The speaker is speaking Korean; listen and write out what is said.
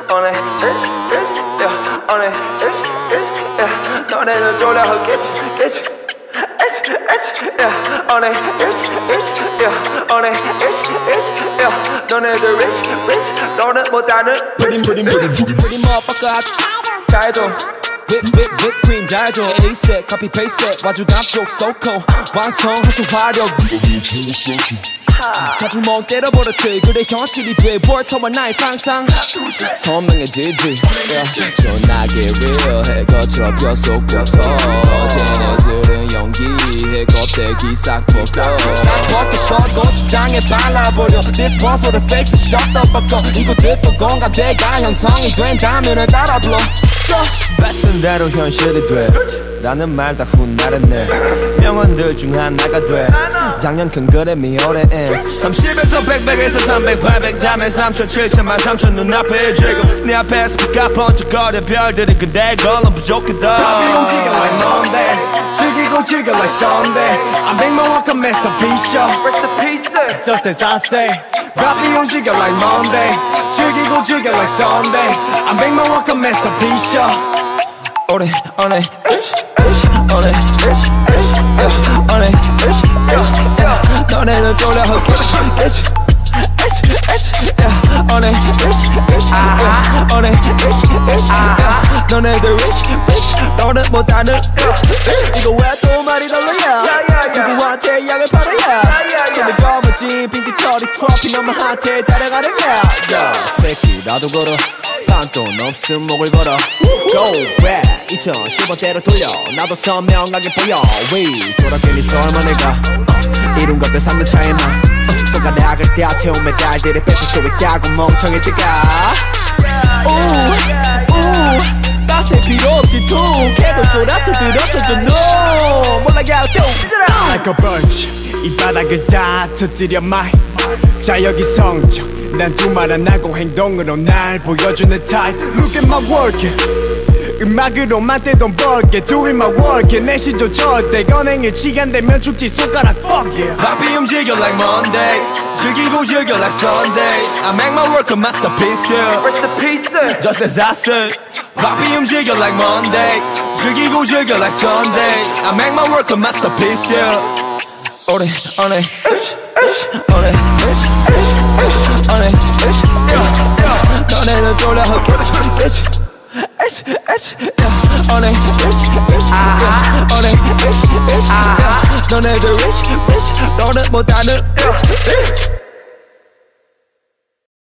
on it, yeah, on it, yeah. 너네는 졸려하겠지, yeah, on it, yeah, on it, yeah. 너네들 rich, 너는 못하는 pretty motherfucker 잘해줘 whip cream 잘해줘 에이스 copy paste 와주 남쪽 so cold 완성해서 화력 같은 멍 때려버렸지 그래 현실이 돼 벌처와 나의 상상 선명해지지 전하게 real해 거칠어 뼛속 겹서 쟤네들은 연기해 껍데기 싹 벗겨 싹 벗겨서 고추장에 발라버려 This one for the fakes shut the fuck up 이거 듣고 공감대가 형성이 된다면은 따라 불러 뱉은 대로 현실이 돼 라는 말 다 훗날했네 명언들 중 하나가 돼 작년 큰 그램이 올해 30에서 100에서 300 800 다음에 3천 7천만 3천 눈앞에 지금 네 앞에서 피가 번쩍거려 별들이 근데 그걸로 부족하다 밥이 움직여 like Monday 즐기고 즐겨 like Sunday I make my work a masterpiece Just as I say 밥이 움직여 like Monday 즐기고 즐겨 like Sunday I make my work a masterpiece on it, on it, on it, yeah, on it, yeah. 너네는 졸려하겠지, yeah, on it, yeah, on it, yeah. 너네들 rich, 너는 못하는 이거 왜 또 말이 달라야? 누구한테 약을 팔아야? 손에 검어진 빈티 털이 트로피 너무 핫해 자랑하는 거야. 새끼 나도 걸어. 반돈 없음 목을 걸어 Go back 2010원대로 돌려 나도 선명하게 보여 위 돌아가니 설마네가 이룬 것들 3년 차에 나 손가락을 떼어 채운 메달들을 뺏을 수 있다고 멍청해지가 빡셀 필요 없이 툭 해도 쫄아서 들어서줘 no 몰라야 또 Like a birch 이 바닥을 다 터뜨려 my 자여기 성적 난 두말 안 하고 행동으로 날 보여주는 타입 Look at my work 음악으로만 떼돈 벌게 Doing my work 내 시조 절대 건행일 시간 되면 죽지 손가락 fuck yeah 밥이 움직여 like Monday 즐기고 즐겨 like Sunday I make my work a masterpiece yeah. Just as I said 밥이 움직여 like Monday 즐기고 즐겨 like Sunday I make my work a masterpiece yeah. on it, on it, on it, on it, 너네는 졸려하겠지, on it, on it, 너네들 rich, 너는 못하는